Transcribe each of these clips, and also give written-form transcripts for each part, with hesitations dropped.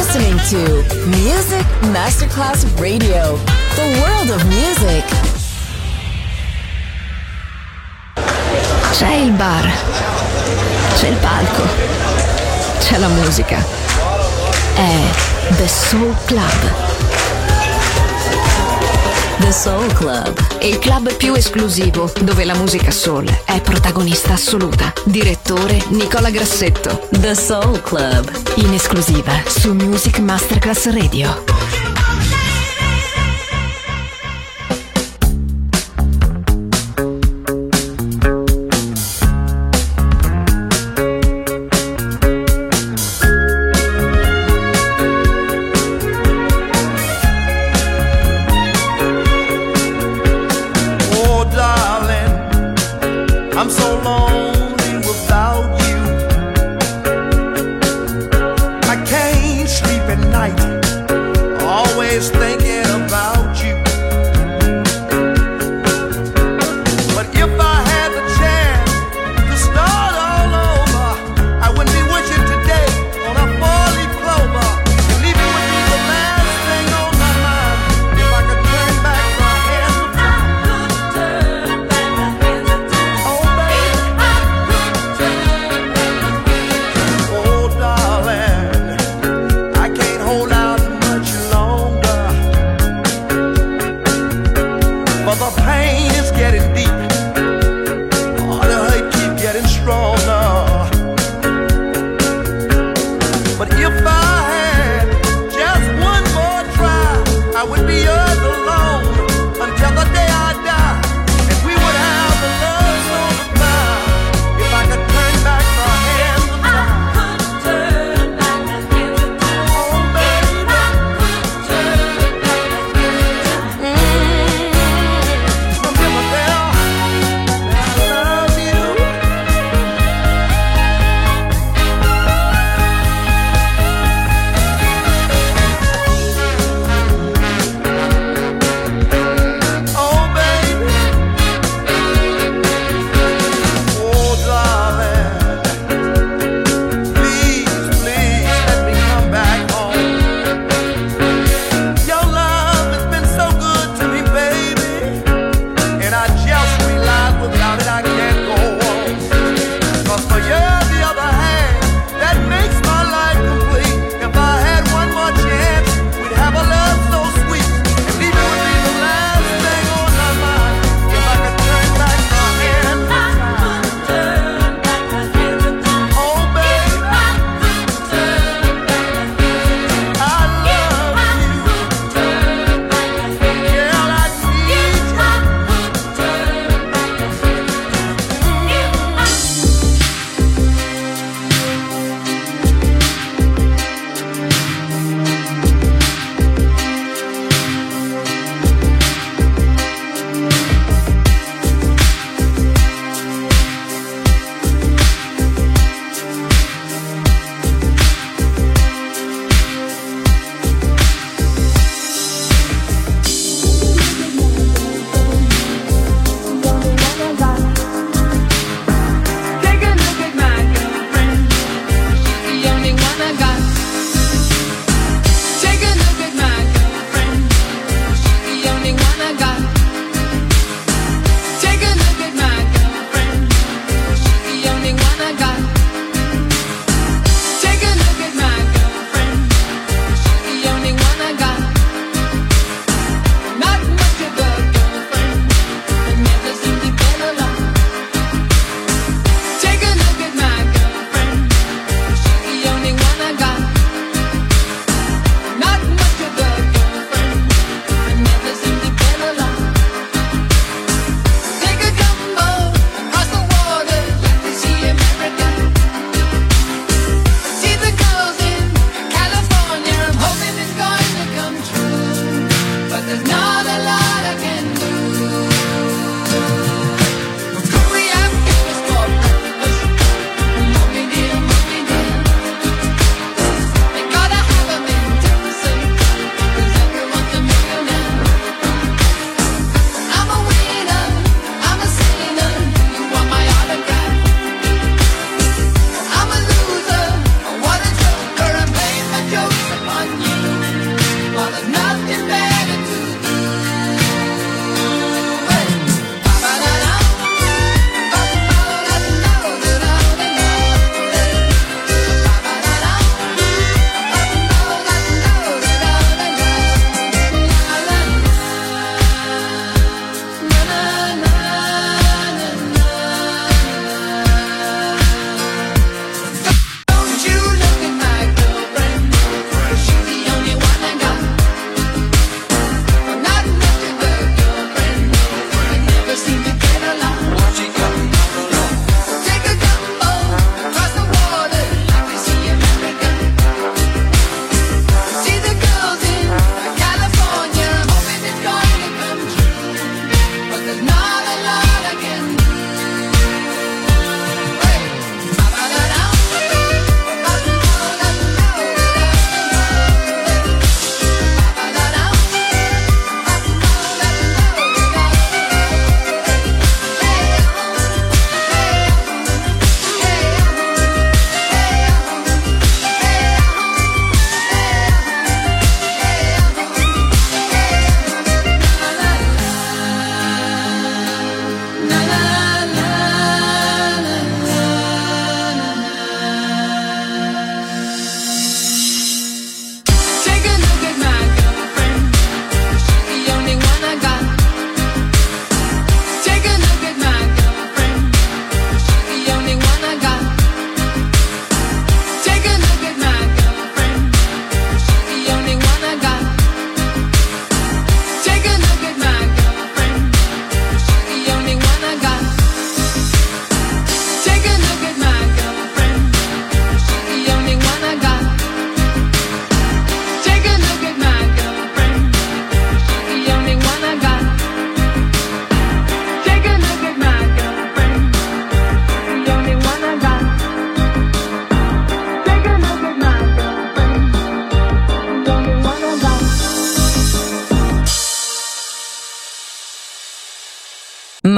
listening to Music Masterclass Radio, the world of music. C'è il bar, c'è il palco, c'è la musica. È The Soul Club. The Soul Club, Il club più esclusivo dove la musica soul è protagonista assoluta. Direttore Nicola Grassetto. The Soul Club, In esclusiva su Music Masterclass Radio. I'm so lonely without you. I can't sleep at night, always thinking about you. But if I had the chance to start all over, I wouldn't be with you today on a four-leaf clover. And leaving would be the last thing on my mind. If I could turn back my hands, the pain is getting deep. Oh, the hurt keep getting stronger. But if I had just one more try, I would be yours alone until the day I die. And we would have the love so divine. If I could turn back the hands of time. Oh, baby,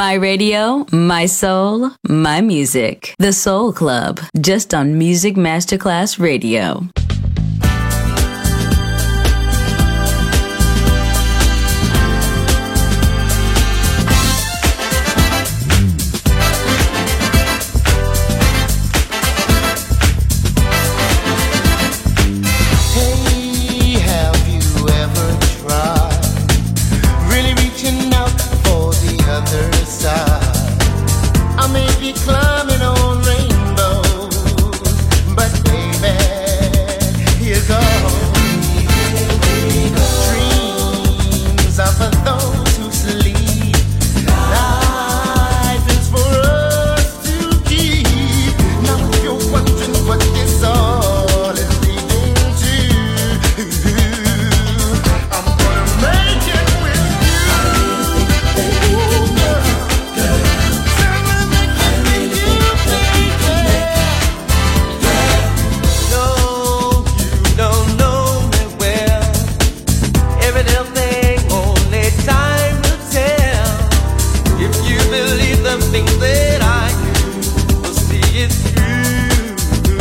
My radio, my soul, my music. The Soul Club, just on Music Masterclass Radio. Climbing on rainbows, but baby, here goes. Dreams are for those who sleep. Life is for us to keep. Now if you're wondering what this all is leading to, I'm gonna make it with you, girl. Things that I do will see it through.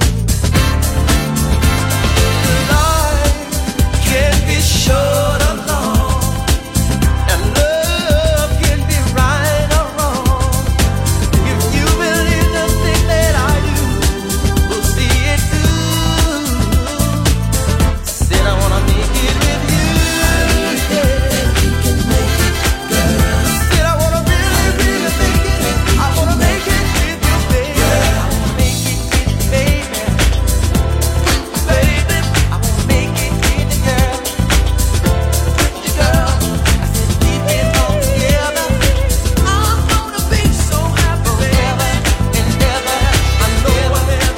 Life can be short or long, and love can be right or wrong. If you believe the thing that I do will see it through. Said I wanna make it with you. We can make it, girl. Said I wanna really make it. I wanna make it with you, baby. I wanna make it with you, baby. Baby, I wanna make it with you, girl. With you, girl. I said keep it all together. I'm gonna be so happy forever and ever. I know it.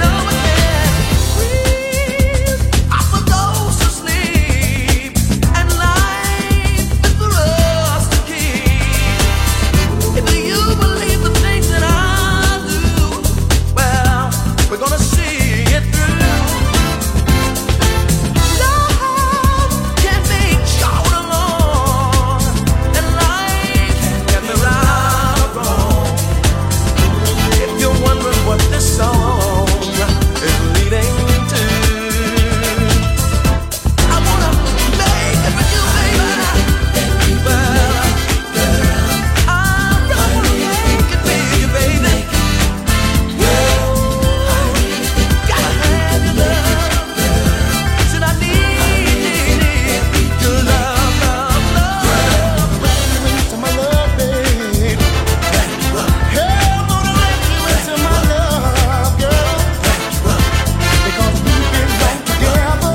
Breathe out for those who sleep, and life is for us to keep. If you believe the things that I do, well, we're gonna see it through. Love can be short or long, and life can be right or wrong. If you're wondering what this song is leading to, I wanna make it with you, baby. Well, I'm gonna make it with you, baby. Gotta have your love. Said I need your love, love. Wrap you into my love, babe. Hey, I'm gonna wrap you into my love, girl. Because we've been right together.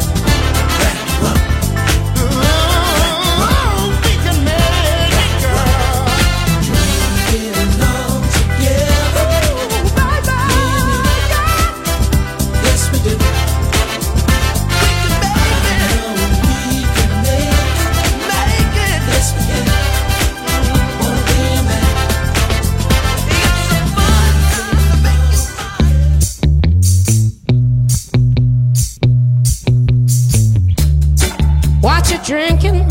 Ooh, we can make it, girl. Dream along together. Yes, we do. We can make it. Yes, we can. Wanna be a man. It's so fun to make you smile. What you drinking?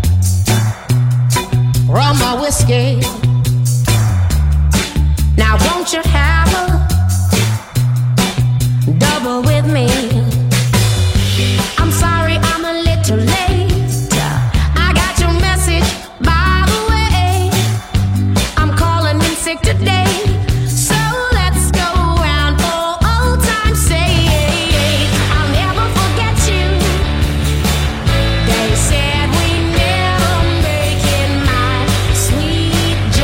Rum or whiskey? Now won't you have a double with me? I'm sorry I'm a little late. I got your message, by the way. I'm calling in sick today. So let's go round for old time's sake. I'll never forget you. They said we never make it, my sweet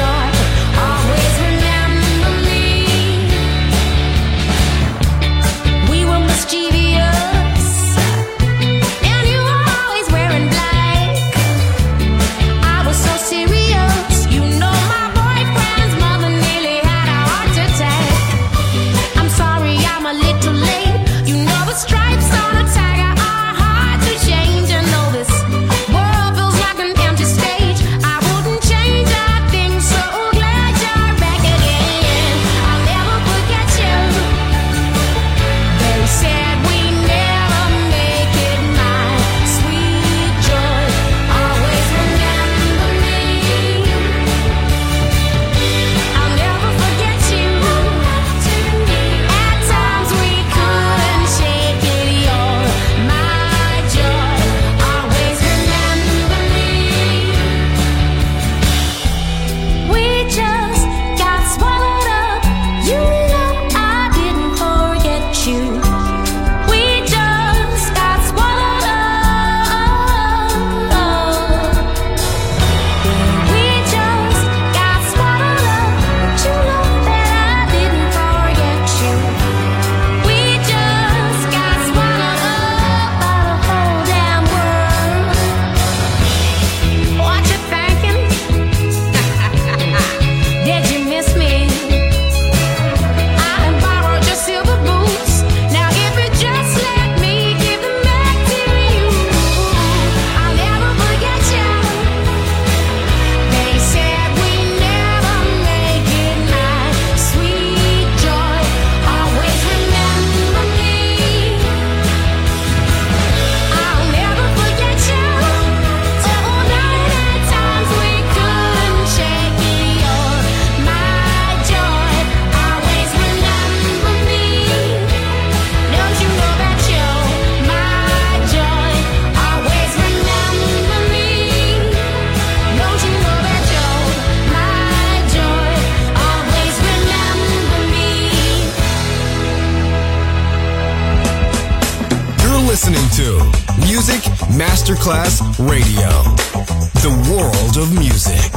listening to Music Masterclass Radio, the world of music.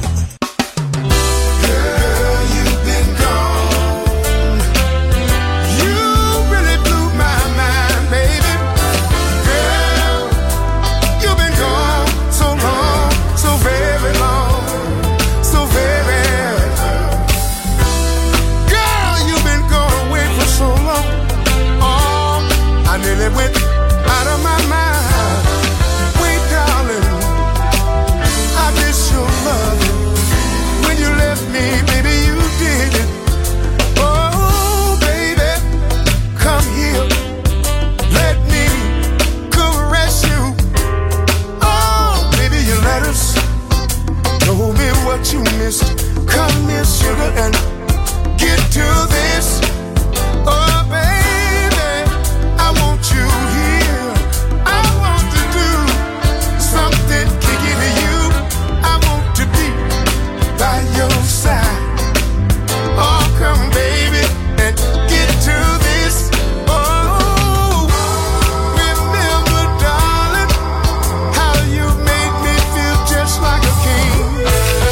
Went out of my mind. Wait, darling, I miss your love. When you left me, baby, you did it. Oh, baby, come here. Let me caress you. Oh, baby, your letters told me what you missed. Come here, sugar, and get to this. Oh, baby, I want you here. I want to do something kicking to you. I want to be by your side. Oh, come, baby, and get to this. Oh, remember, darling, how you made me feel just like a king.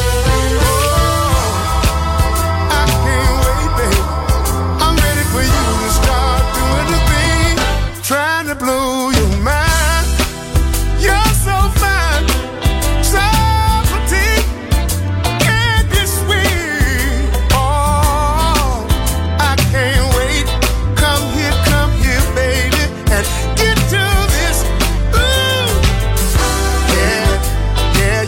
Oh, I can't wait, baby. I'm ready for you to start doing the thing, trying to blow your mind. You're so fine, so petite, and you're sweet. Oh, I can't wait. Come here, baby, and get to this. Ooh, yeah.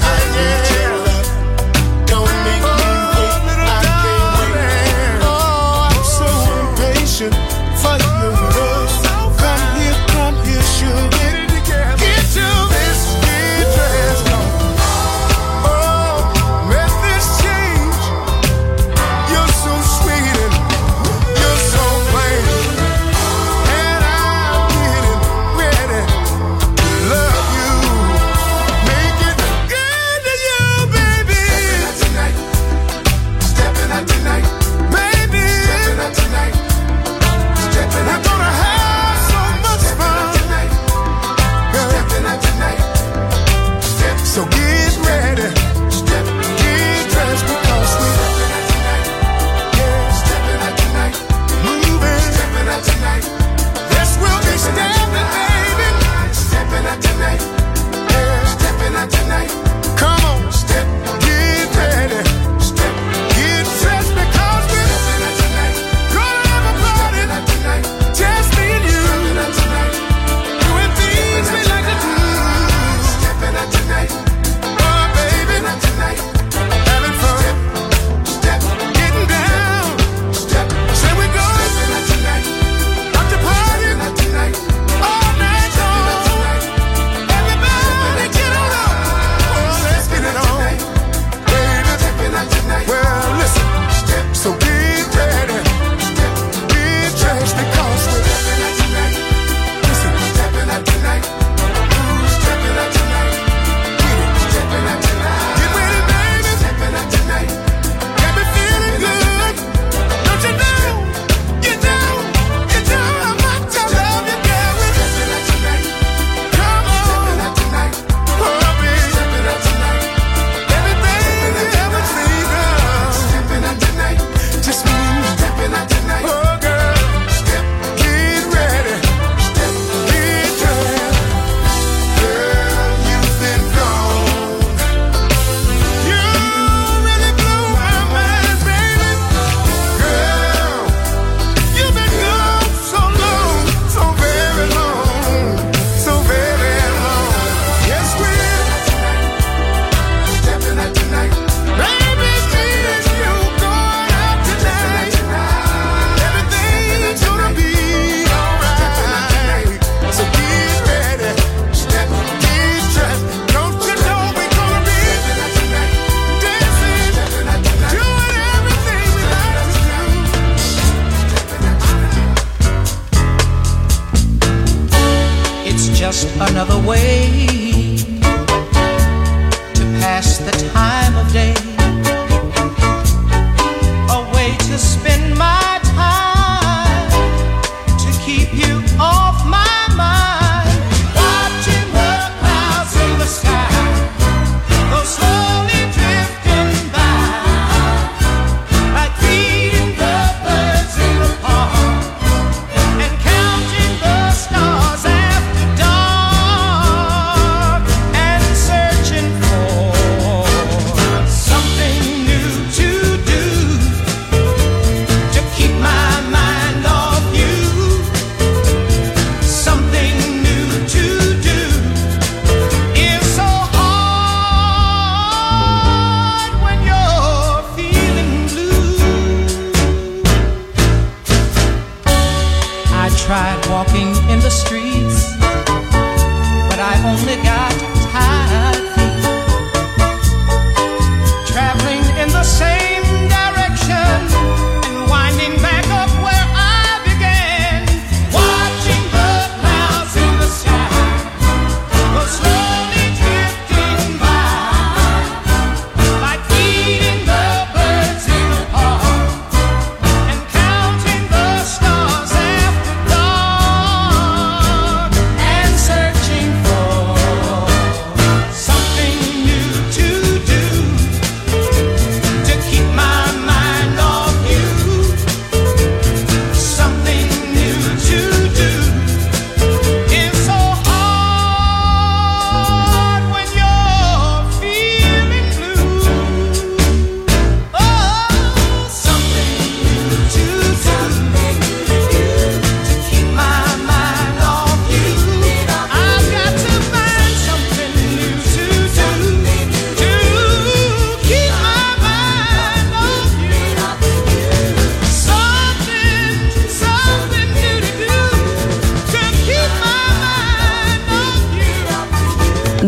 Don't make me wait. I can't wait. Oh, I'm so impatient for your love. Come here, sugar. Get to this, get dressed on. Oh, let this change. You're so sweet and you're so plain, and I'm getting ready to love you. Make it good to you, baby. Stepping out tonight, baby. Stepping out tonight. We're gonna have so much fun. Stepping out tonight. So get ready. Get dressed because we're stepping out tonight. Moving. Stepping out tonight. Yes, we'll be stepping, baby. Stepping out tonight. Stepping out tonight. Come on, step. Get ready. Step. Get dressed because we're stepping out tonight. Gonna have a party tonight. Just me and you. Stepping out tonight. Doing things we like to do. Stepping out tonight. Oh, baby. Stepping out tonight. Having fun. Step. Getting down. Step. Say we go. Stepping out tonight. Up to party. Stepping out tonight. All night long. Everybody get on up. Oh, let's get it on. Baby. Stepping out tonight. Well, listen. Step. So get ready. Step. Get dressed because we're stepping out tonight. Listen. Stepping out tonight. Ooh, stepping out tonight. Get it. Stepping out tonight. Get ready, baby. Stepping out tonight. Got me feeling good. Don't you know? You know how much I love you, girl. Stepping out tonight. Come on. Stepping out tonight. Oh, baby. Stepping out tonight. Everything you ever dreamed of. Stepping out tonight. Just me. Stepping out tonight. Oh, girl. Step. Get ready. Step. Get dressed. Girl, you've been gone. You really blew my mind, baby. Girl, you've been gone so long, so very long, so very long. Yes, we're stepping out tonight. Baby, me and you going out tonight. Everything's gonna be alright. So get ready. Step, get dressed. Don't you know we're gonna be dancing, doing everything we like to do. It's just another way to pass the time of day, a way to spend my time, to keep you off my mind.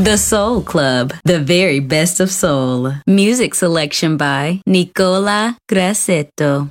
The Soul Club, the very best of soul. Music selection by Nicola Grassetto.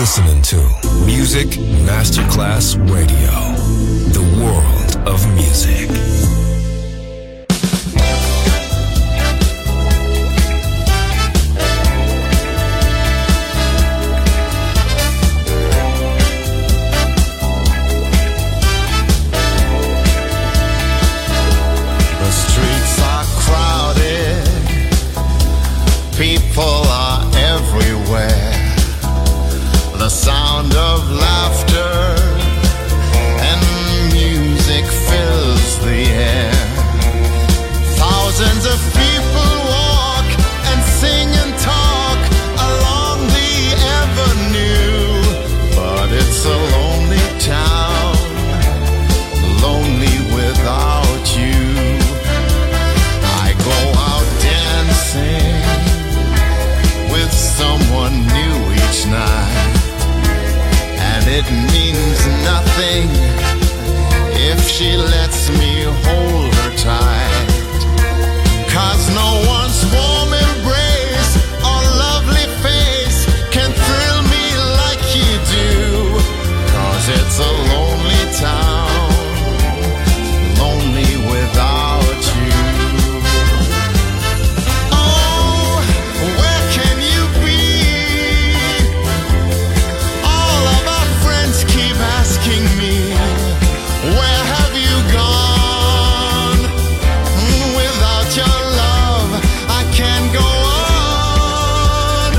listening to Music Masterclass Radio, the world of music. The streets are crowded, people are everywhere. The sound of laughter and music fills the air. Thousands of people walk and sing and talk along the avenue, but it's a lonely town, lonely without you. I go out dancing with someone new each night, and it means nothing if she lets me hold her tight. 'Cause no one's warm embrace or lovely face can thrill me like you do. 'Cause it's a lonely town, lonely without you. Oh, where can you be? All of our friends keep asking me, where have you gone? Without your love, I can't go on.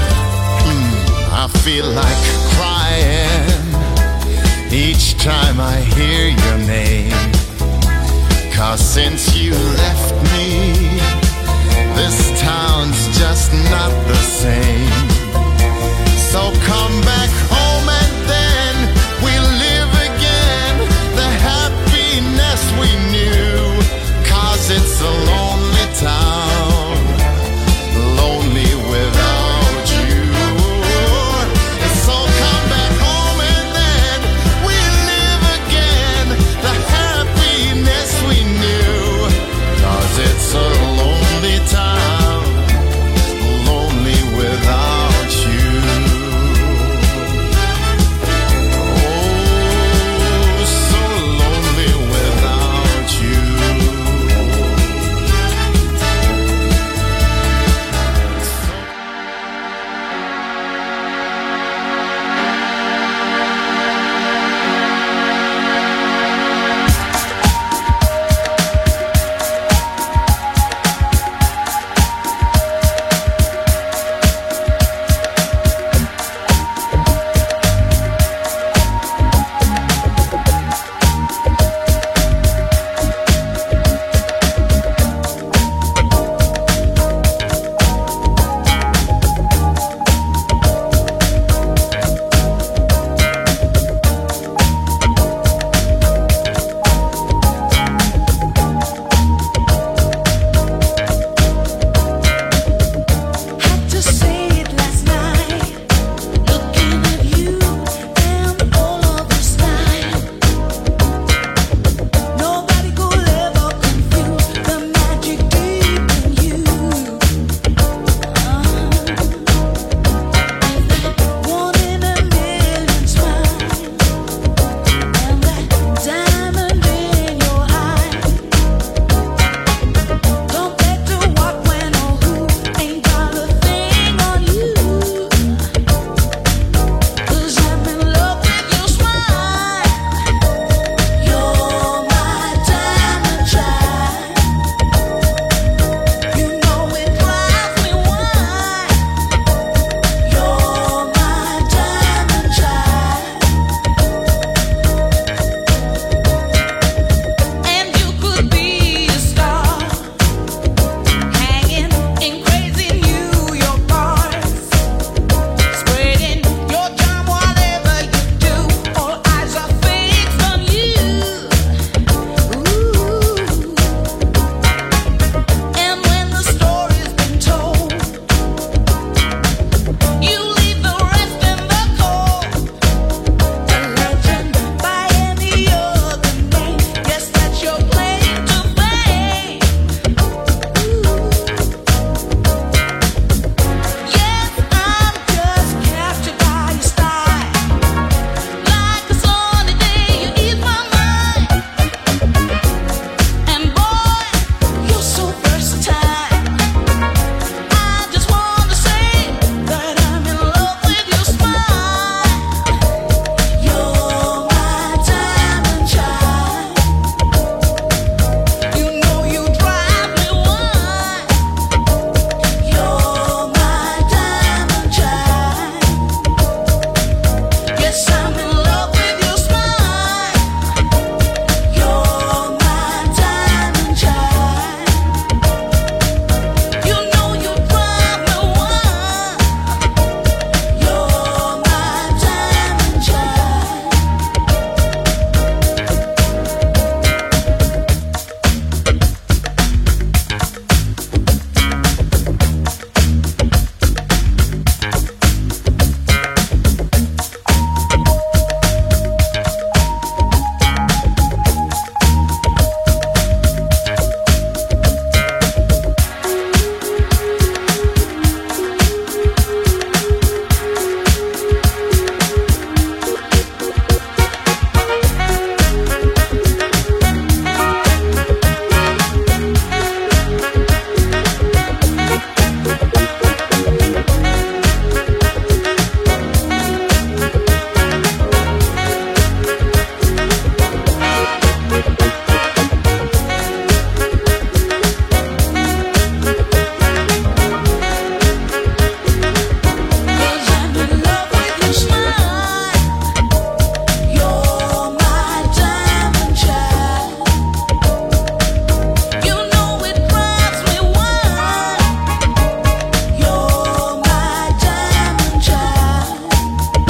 I feel like crying each time I hear your name. 'Cause since you left me, this town's just not the same. So come back home and then we'll live again the happiness we knew. 'Cause it's a lonely town, lonely without you. So come back home and then we'll live again the happiness we knew. 'Cause it's a lonely town, lonely without you.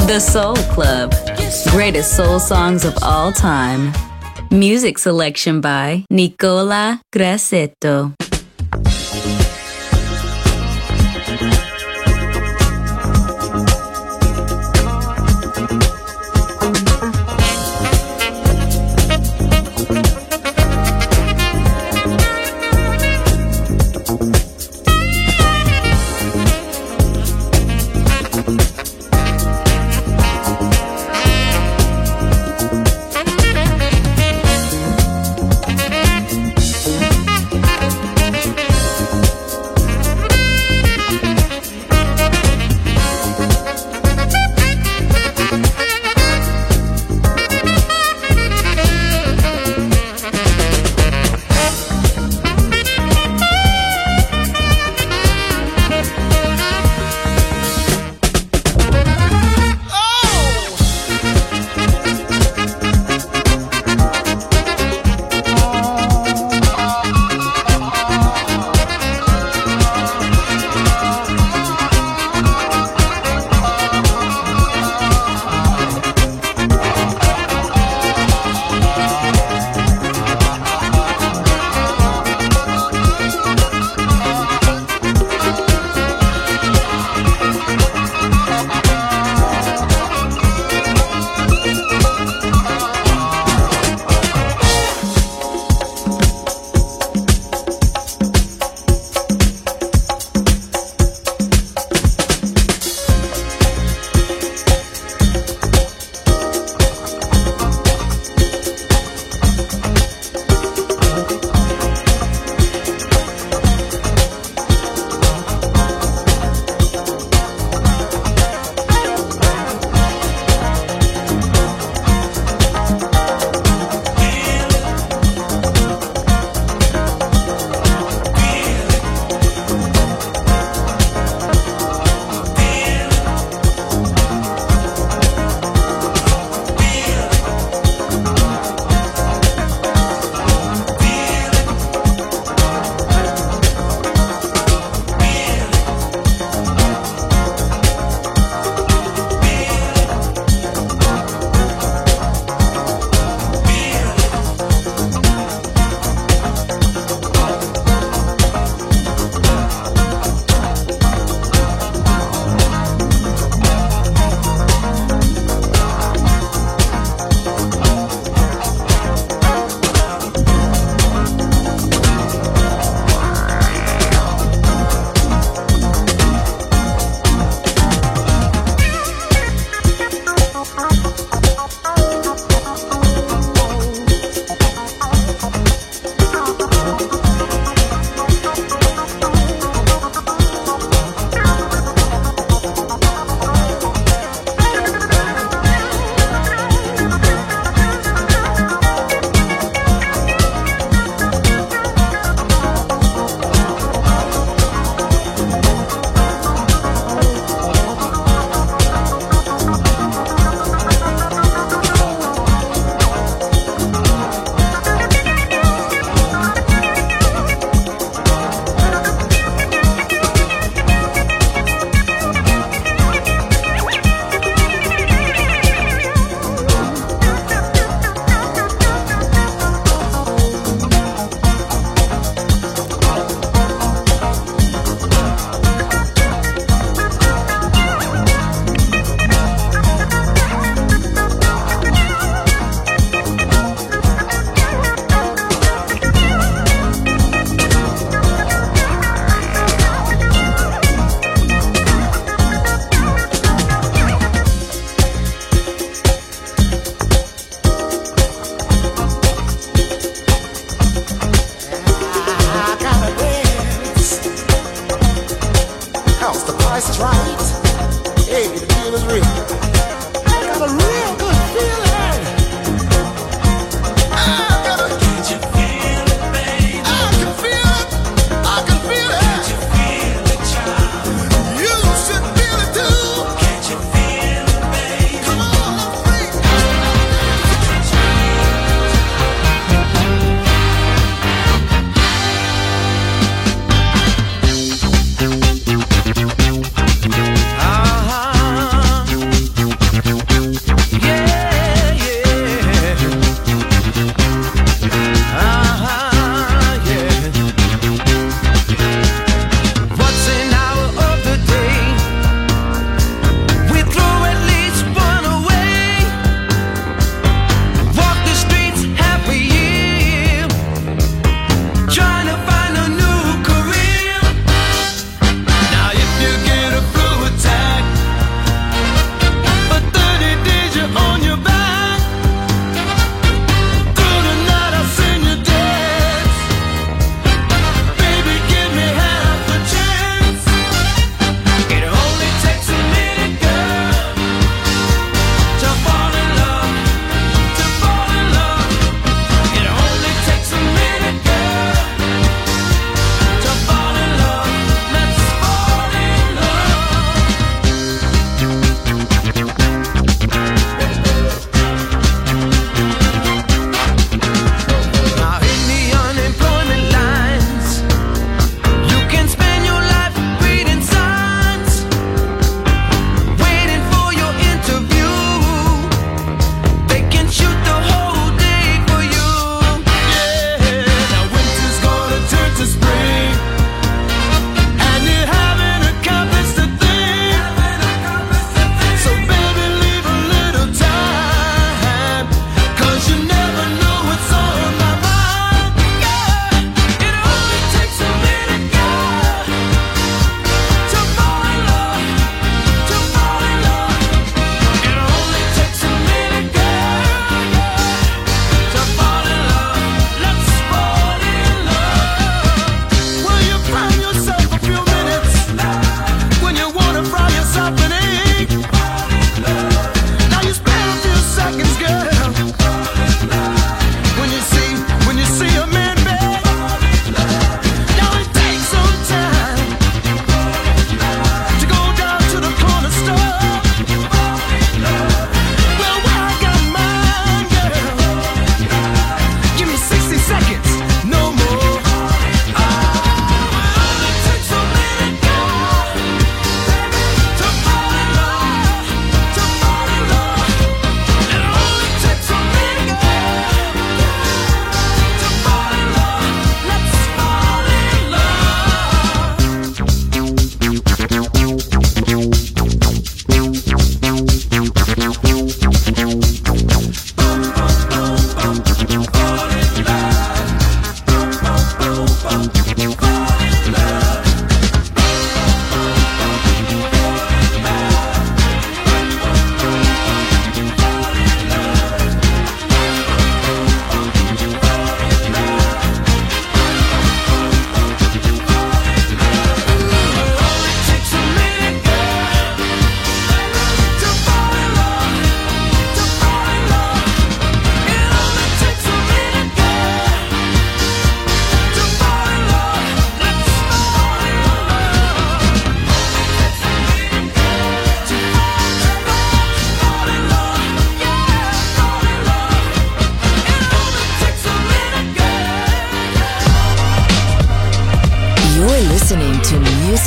The Soul Club. Greatest soul songs of all time. Music selection by Nicola Grassetto.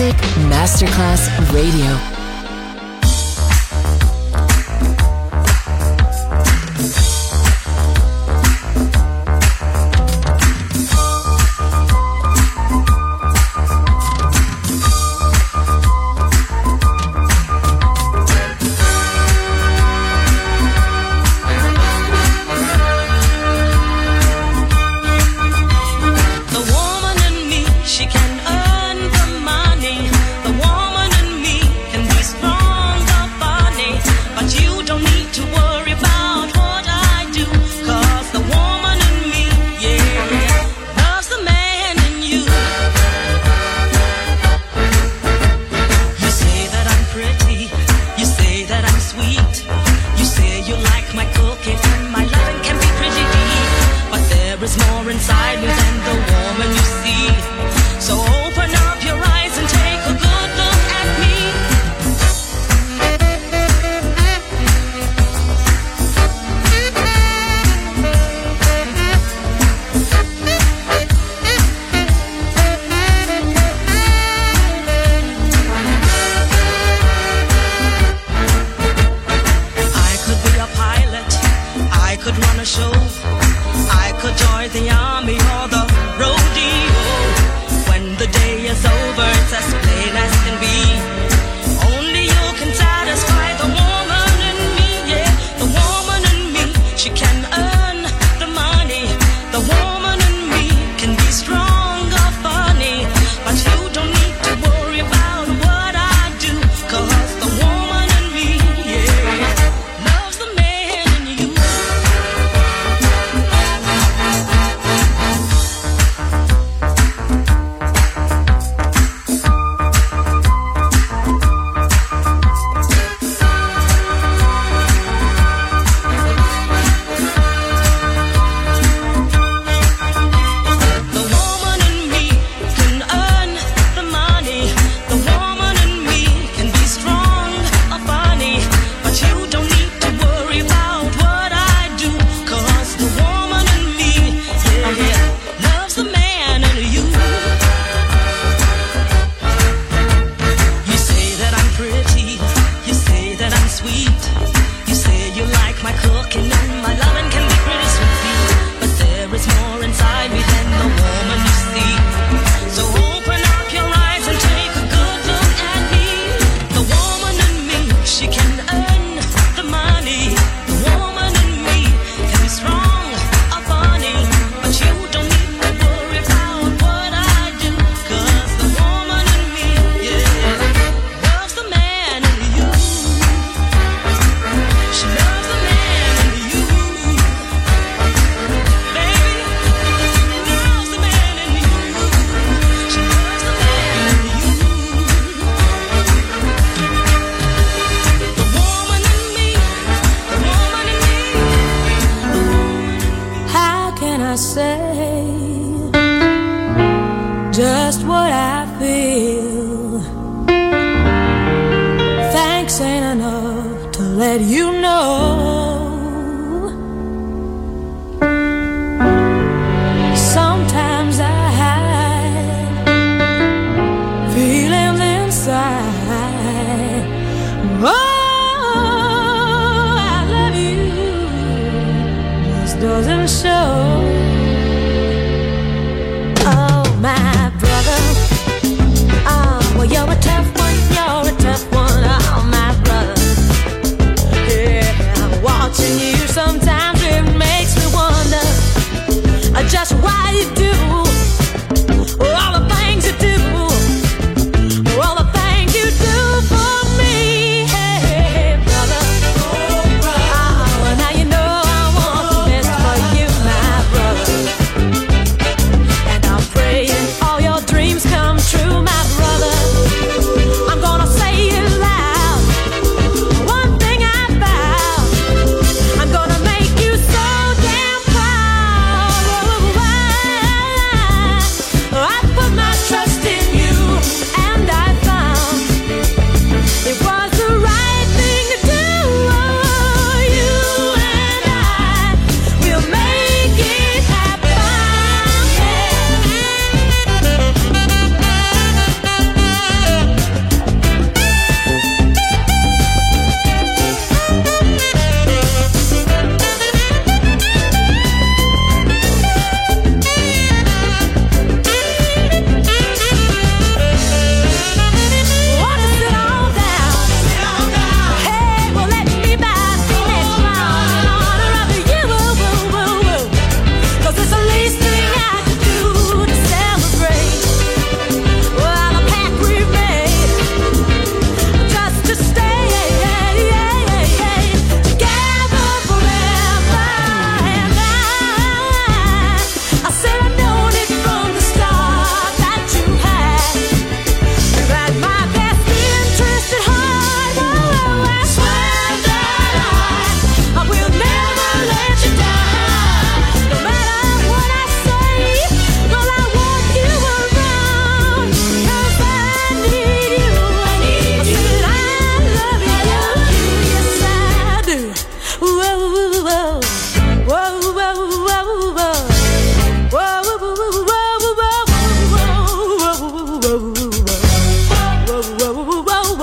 Music Masterclass Radio. You're a tough one, oh my brother. Yeah.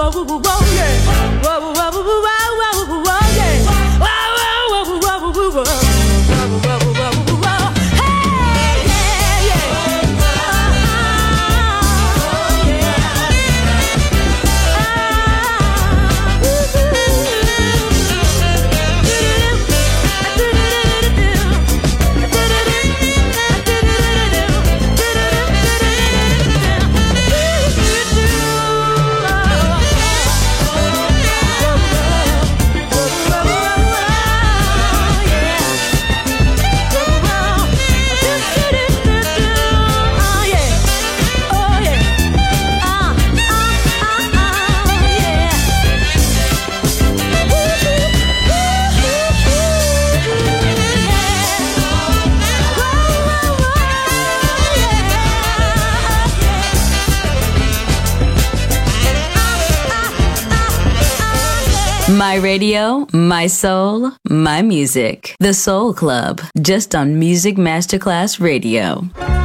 My radio, my soul, my music. The Soul Club, just on Music Masterclass Radio.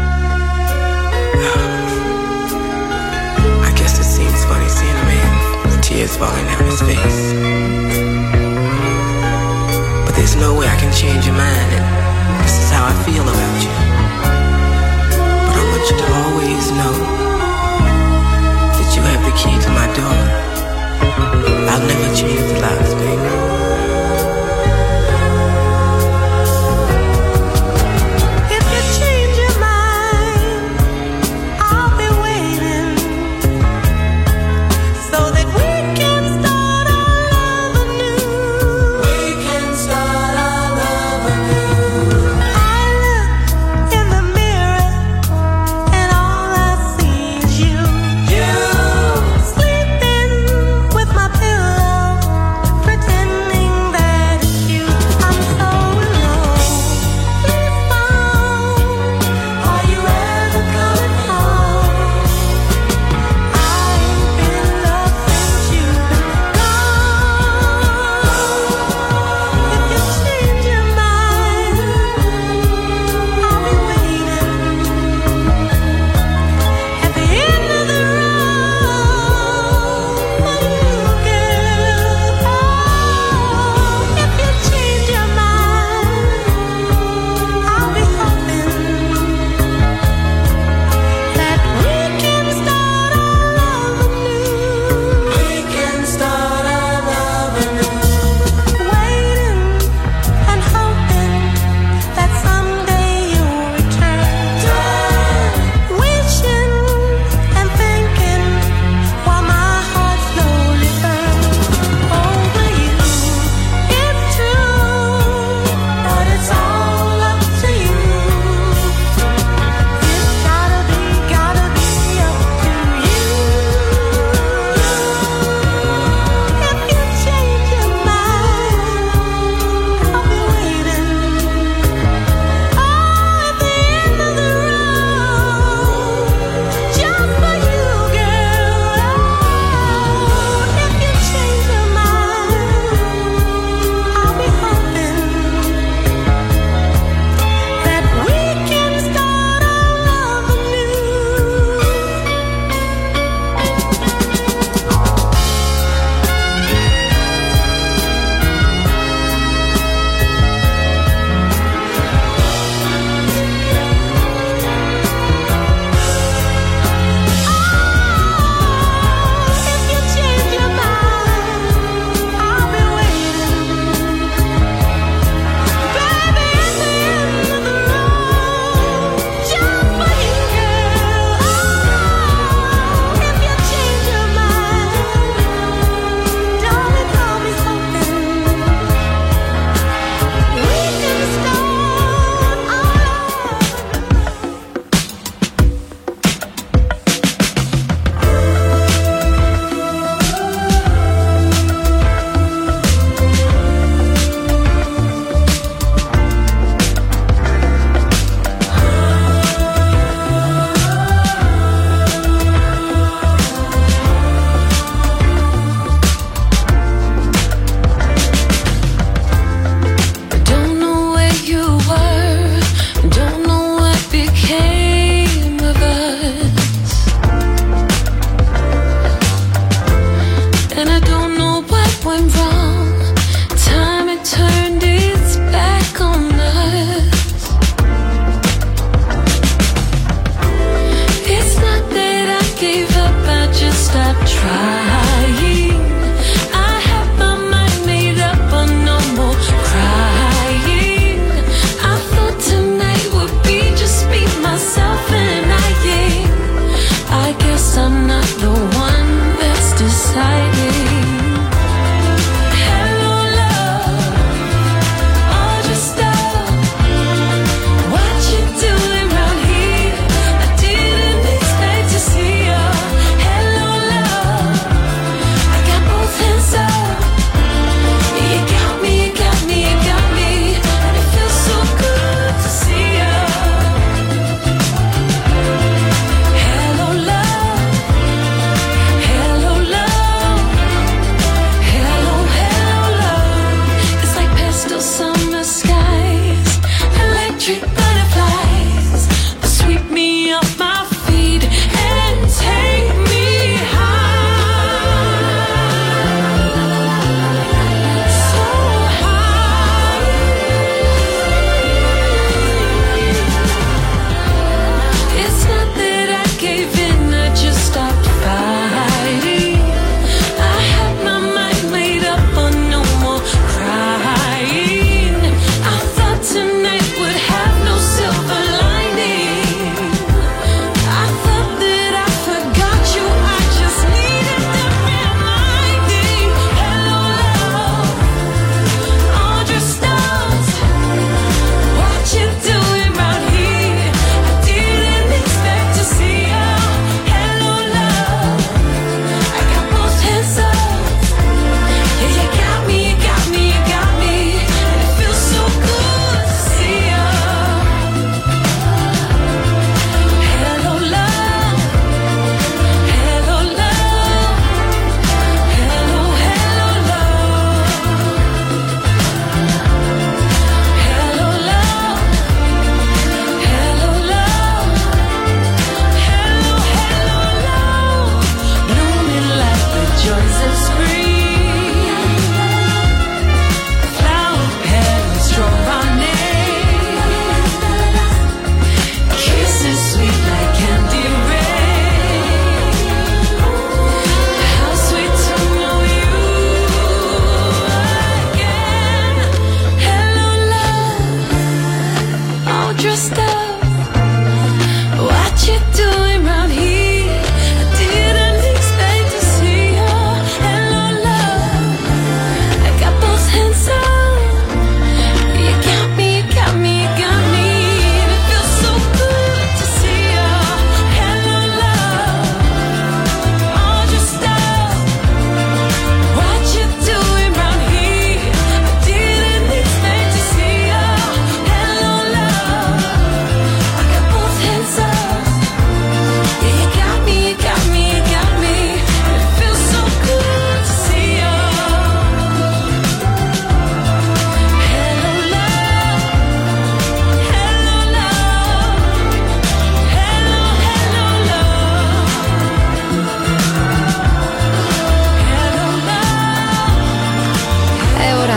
I guess it seems funny seeing a man with tears falling down his face. But there's no way I can change your mind, and this is how I feel about you. But I want you to always know that you have the key to my door. I'll never change the locks, baby. If you change your mind, I'll be waiting so that we can start our love anew. We can start our love anew. I look in the mirror and all I see is you. You sleeping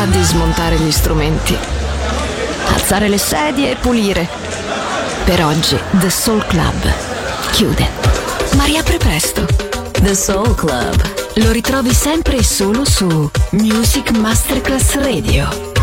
di smontare gli strumenti, alzare le sedie e pulire. Per oggi The Soul Club chiude, ma riapre presto. The Soul Club. Lo ritrovi sempre e solo su Music Masterclass Radio.